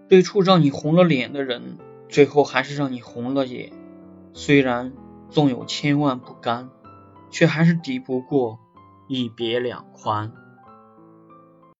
最初让你红了脸的人，最后还是让你红了眼。虽然纵有千万不甘，却还是抵不过一别两宽。